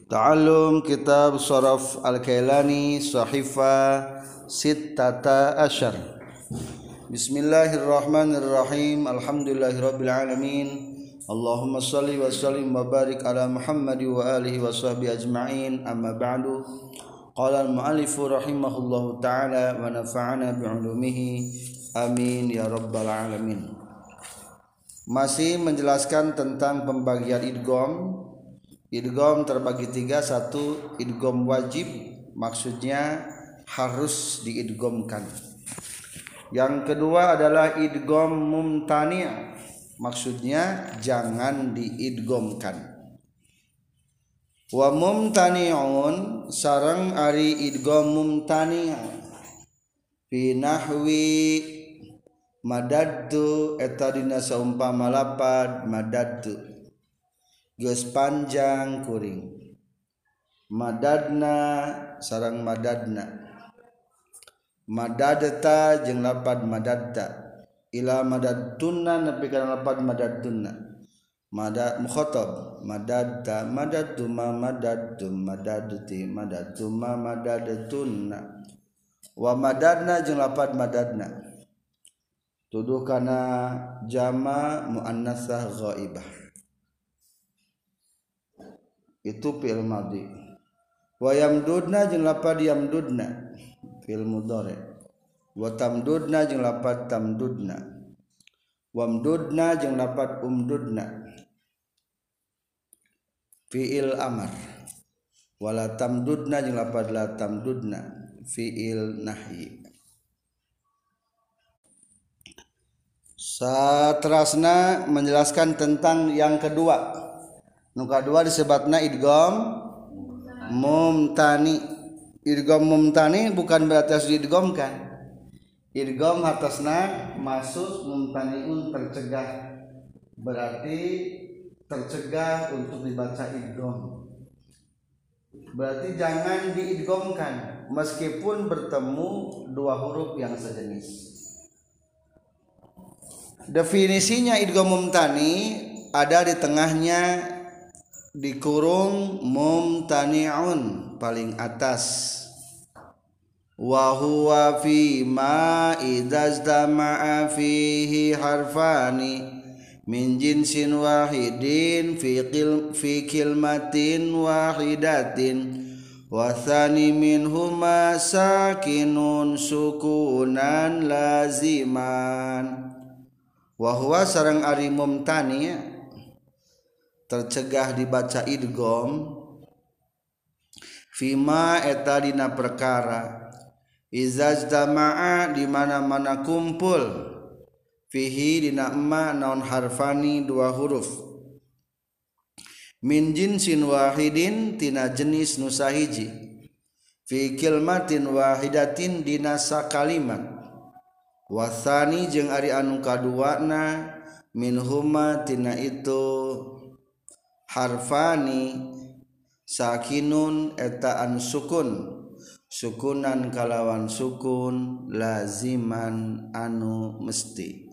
Ta'allum Kitab Sharaf Al-Kailani Sahifa Sittata Asyar. Bismillahirrahmanirrahim. Alhamdulillahirabbil alamin. Allahumma shalli wa sallim wa barik ala Muhammad wa alihi wa sahbihi ajma'in. Amma ba'du. Qala al-mu'allif rahimahullahu ta'ala wa nafa'ana bi'ulumihi. Amin ya rabbal alamin. Masih menjelaskan tentang pembagian idgham. Idgham terbagi tiga. Satu, idgham wajib, maksudnya harus diidghamkan. Yang kedua adalah idgham mumtani', maksudnya jangan diidghamkan. Wa mumtani'un sareng ari idgham mumtani' fi nahwi madaddu eta dina saumpama lapad madaddu geus panjang kuring. Madadna sareng madadna. Madadta jeung lapad madadta. Ila madadtunna nepi kana lapad madadtunna. Madad mukhatab madadta madadtuma madadtum madadti madadtuma madadtunna. Wa madadna jeung lapad madadna. Tuduh kana jama muannasah ghaibah. Itu fi'il madhi. Wa yamdudna jeung lapad yamdudna fi'il mudhari. Wa tamdudna jeung lapad tamdudna. Wamdudna jeung lapad umdudna fi'il amar. Wala tamdudna jeung lapad la tamdudna fi'il nahyi. Saterasna menjelaskan tentang yang kedua. Nu kadua disebutna idgham mumtani. Idgham mumtani bukan berarti harus diidghamkan. Idgham hartosna masuk, mumtaniun tercegah. Berarti tercegah untuk dibaca idgham. Berarti jangan diidghamkan meskipun bertemu dua huruf yang sejenis. Definisinya idgham mumtani ada di tengahnya dikurung mumtani'un paling atas. Wa huwa fi ma idzastama'a fihi harfani min jinsin wahidin fi kilmatin wahidatin wa tsani minhuma sakinun sukunan laziman. Wa huwa sareng ari mumtani' tercegah dibaca idgham fima eta dina perkara izajtama'a di mana-mana kumpul fihi dina emma naon harfani dua huruf min jinsin wahidin tina jenis nu sahiji fi kilmatin wahidatin dina sakalimat wasani jeung ari anu kaduana minhuma tina itu harfani sakinun eta an sukun sukunan kalawan sukun laziman anu mesti.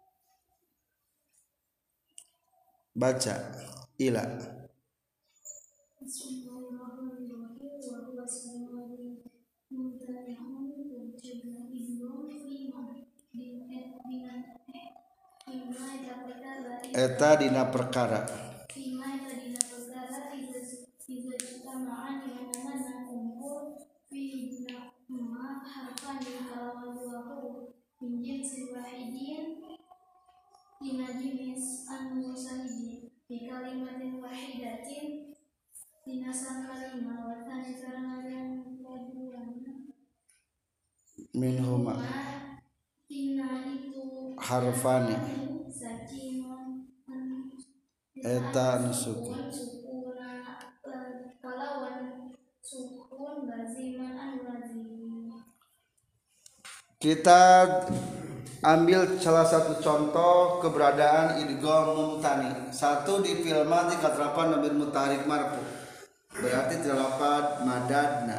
Baca ila eta dina perkara dina jenis anu sahiji di kalimatin wahidatin dina sakalimat wa tsani sareng yang kaduana minhuma dina itu harfani sakinun eta anu sukun kalawan sukun laziman anu lazim. Kita ambil salah satu contoh keberadaan idgham mumtani. Satu di fi'il madhi katrapan nabil mutaharrik marfu. Berarti terdapat madadna.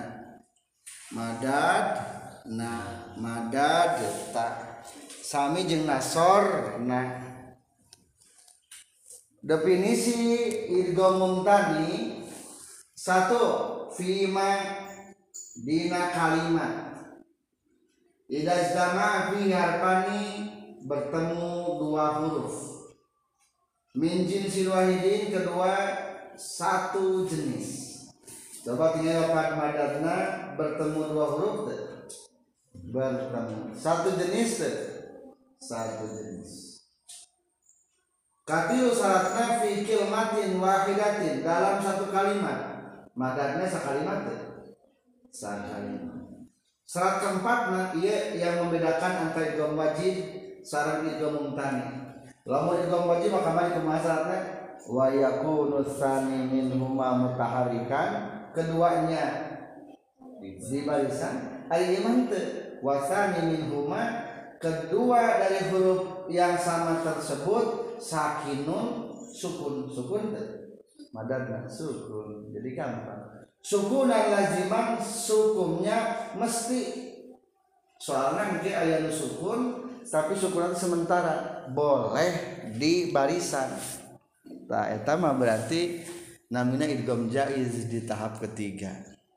Madadna, madadta. Sami jeung nasorna. Definisi idgham mumtani Satu, fima dina kalimat. Idza ijtama'a fi harfani bertemu dua huruf. Min jinsil wahidin, kedua satu jenis. Coba tinggal lafaz madadna bertemu dua huruf deh. Bertemu satu jenis deh. Satu jenis. Katilu syaratna fi kalimatin wahidatin, dalam satu kalimat. Madadna sakalimat deh. Sakalimat. Syarat keempatna ieu yang membedakan antara idgham wajib sareng idgham mumtani. Lamun idgham wajib maka mari kumaha syaratna? Wa yakunu tsani minhuma mutaharrikan, keduanya di barisan ari iman teu wa tsani minhuma, kedua dari huruf yang sama tersebut sakinun sukun teu madadna sukun, jadi gampang. Sukunan laziman, sukunnya mesti, soalnya mungkin aya nu sukun tapi sukunan sementara, boleh di barisan. Nah, eta mah berarti namina idgham jaiz di tahap ketiga.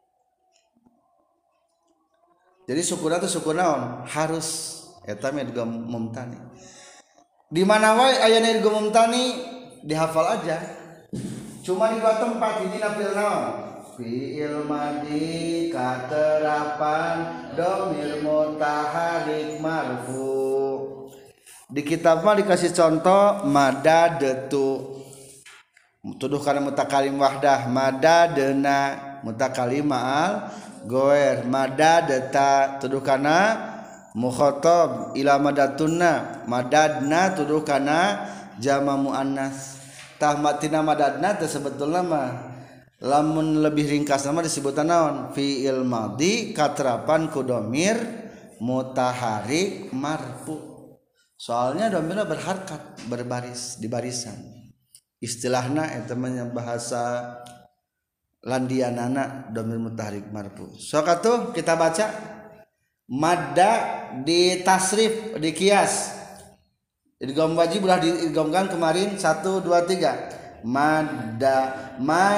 Jadi sukunan itu sukun naon? Harus eta mah idgham mumtani. Di mana wae aya idgham mumtani dihafal aja. Cuma di dua tempat, ini nafil naon? Fi'il madi katerapan dhamir mutaharrik marfu. Di kitab mah dikasih contoh madadatu, tuduh kana mutakalim wahdah, madadna mutakalim ma'al goer, madadata tuduh kana mukhatab ila madatunna, madadna tuduh kana jama muannas. Tah matina madadna teh sebetulna mah lamun lebih ringkas nama disebutan naon? Fi'il madhi katerapan ku dhamir mutaharrik marfu. Soalnya dhamirna berharkat, berbaris di barisan. Istilahna eta mah bahasa landianana dhamir mutaharrik marfu. Sok atuh kita baca madda di tasrif, di kias. Idgham wajib udah diidghamkan kemarin 1 2 3. Madda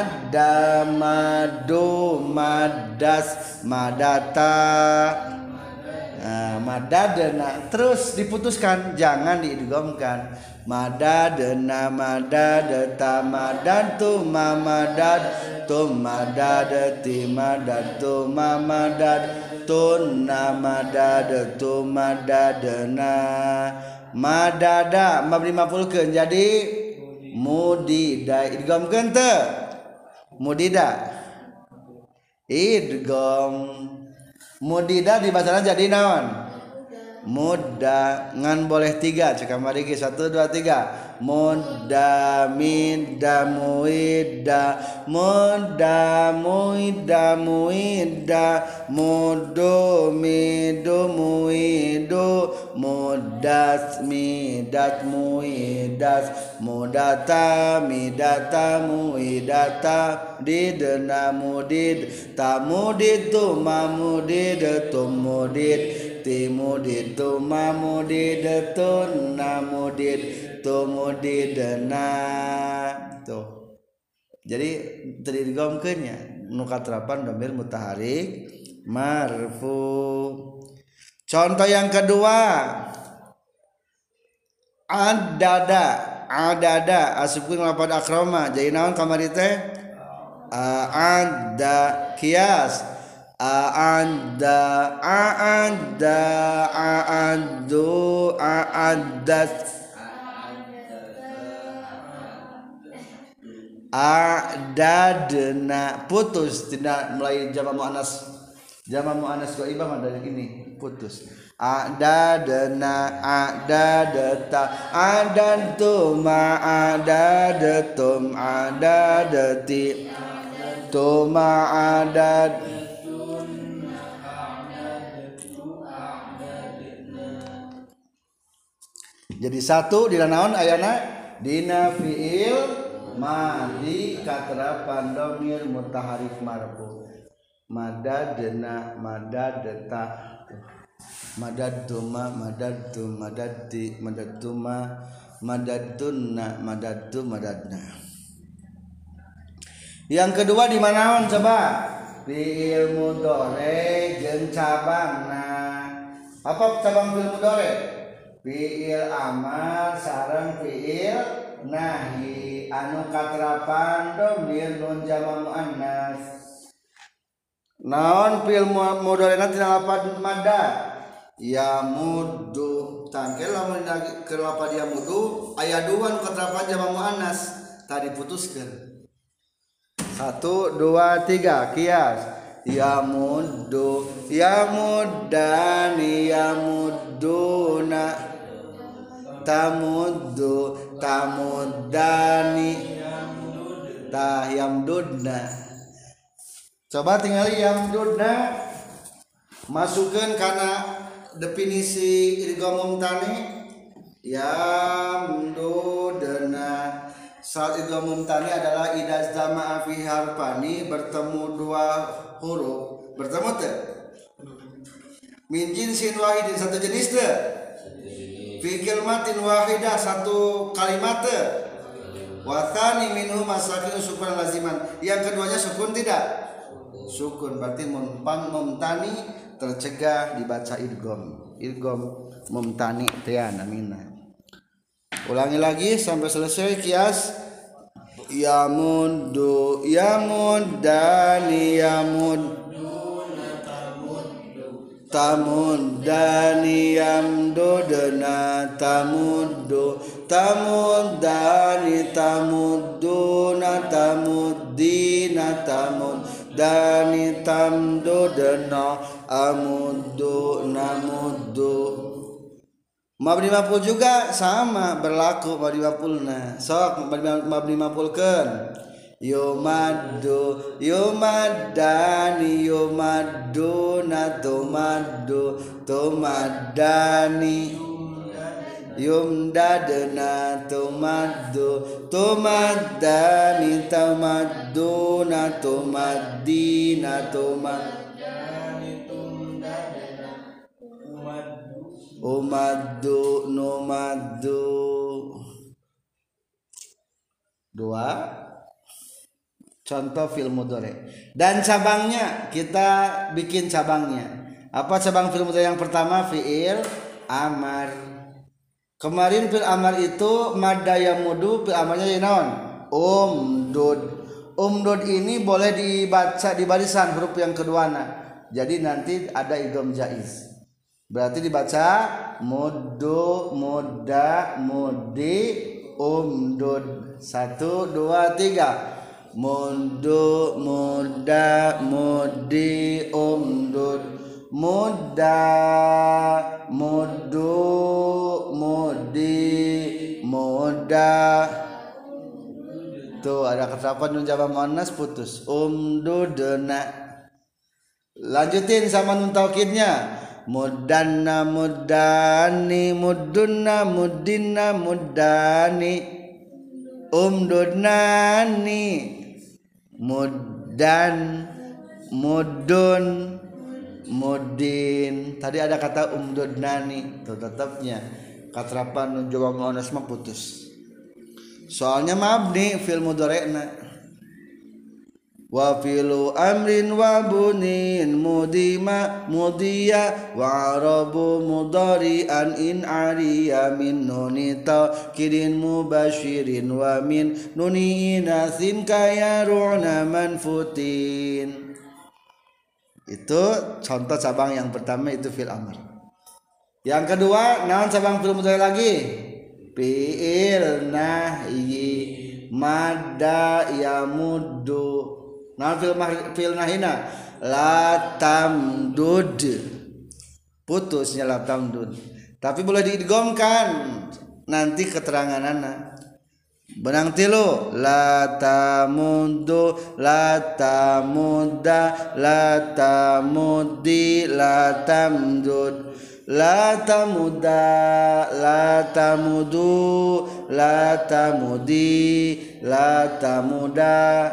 madu madas madata. Nah, madadna terus diputuskan, jangan diidghamkan. Madadna madadata madatu mamadad tum madadati madatu mamadad tunna madadatu madadna. Madada mabni maf'ulkeun jadi mudida, idghamkeun teu? Mudida idgham, mudida dibacana jadi naon? Mudda. Ngan boleh 3 cek kamari ge 1 2 3. Mudda midda muidda mudda muidda muidda muddu midu muidu muddat midat muidat mudata midata muidata didna mudid tamudid tumamudid tumudid timudid tumamudid tunamudid tumudidna. Tuh. Jadi teridghamkeun nya nu katerapan dhamir mutaharrik marfu. Contoh yang kedua, adada asupkeun lafaz akrama jadi naon kamari teh? Ada kias aaddu aaddat adadna putus, tidak mulai jama muannas ghaibah mah dari ini putus. Adadna adadata adantum adadatum adadati tuma adad. Jadi satu dina naon ayana? Dina fi'il madhi katerapan dhamir mutaharrik marfu. Madadna madadata madaduma madadtu madadti madadtuma madadtunna madadtu madadna. Yang kedua di mana coba? Fi'il mudhari jeung cabangna. Apa cabang fi'il mudhari? Fi'il amar sareng fi'il nahi anu katrapan dhamir nun jama muannas. Naon fi'il mudhari tina lafaz madda? Ya muddu. Tangke lamun ke lafaz ya muddu aya dua nu katrapan jama muannas tadi putuskeun. 1 2 3 kias. Ya muddu ya muddani ya mudduna tamuddu tamuddani yamdudna. Coba tinggali yamdudna masukkan karena definisi idgham mumtani. Yamdudna saat idgham mumtani adalah idza jama'a fi harfani bertemu dua huruf. Bertemu teh min jinsin wahidin satu jenis teh fi kalimatin wahidah satu kalimat teh wa tsani minhu masakin sukun laziman. Yang keduanya sukun tidak? Sukun berarti mumtani tercegah dibaca idgham. Idgham mumtani teh namina. Ulangi lagi sampai selesai kias. Ya muddu ya muddani ya mudduna tamuddani yamdudna tamuddu tamuddani tamudduna tamuddina tamuddani tamdudna amuddu namuddu. Mabni maf'ul juga sama berlaku mabni maf'ulna. Sok mabni maf'ulkeun. Yumaddu yumaddani yumadduna tumaddu tumaddani yumdadna tumaddu tumaddani tumadduna tumaddina umaddu numaddu. 2 contoh fi'il mudhari dan cabangnya kita bikin cabangnya. Apa cabang fi'il mudhari yang pertama? Fi'il amar. Kemarin fi'il amar itu madda ya mudu, fi'il amarnya ya naon? Umdud. Umdud ini boleh dibaca di barisan huruf yang keduana. Jadi nanti ada idgham jaiz. Berarti dibaca muddu mudda muddi umdud. 1 2 3 muddu mudda muddi umdud mudda muddu muddi mudda. Tuh ada kata nun jama muannas putus umdudna. Lanjutin sama nun taukidnya. Muddanna muddani muddunna muddinna muddani umdudnani muddan muddun muddin. Tadi ada kata umdudnani tuh tetapnya katrapan nun jama muannas mah putus. Soalnya mabni fil mudhari'na. Wa filu amrin wa bunin mudima mudiya wa arabu mudari'an in ariya min nuni taqidin mubashirin wa min nuni inasin kaya ru'na manfutin. Itu contoh cabang yang pertama itu fil amr. Yang kedua naon cabang fil mudhari lagi? Fi'il nahyi madda ya muddu. Nah fil nahina la tamdud putusnya la tamdud, tapi boleh diidghamkan nanti keteranganana. Benang tilu la tamuddu la tamudda la tamuddi la tamdud la tamudda la tamudu la tamudi la tamuda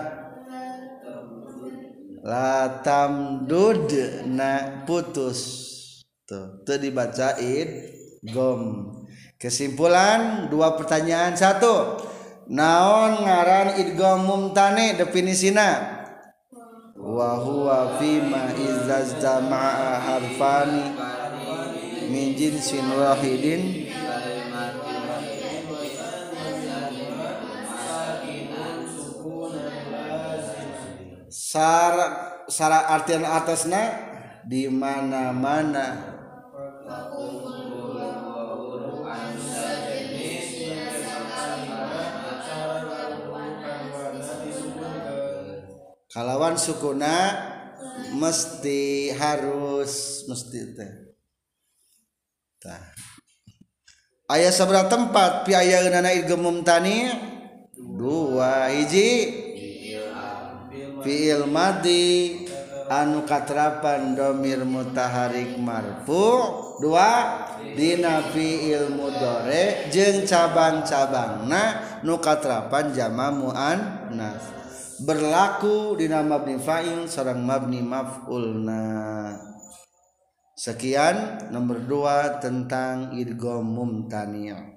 la tamdud na putus. Tuh dibaca idgham. Kesimpulan 2 pertanyaan. 1, Naon ngaran idgham mumtani definisina? Wa huwa fima izzajtama'a harfani min jinsin wahidin sara artian atasna di mana-mana kalawan sukuna mesti harus mesti teh tah aya sabaraha tempat pi ayeuna idgham mumtani dua hiji fi'il madhi anu katrapan dhamir mutaharik marfu dua dina fi'il mudhari jeung cabang-cabangna nu katrapan jama muannas berlaku dina mabni fa'il sareng mabni maf'ulna. Sekian nomor 2 tentang idgham mumtani'.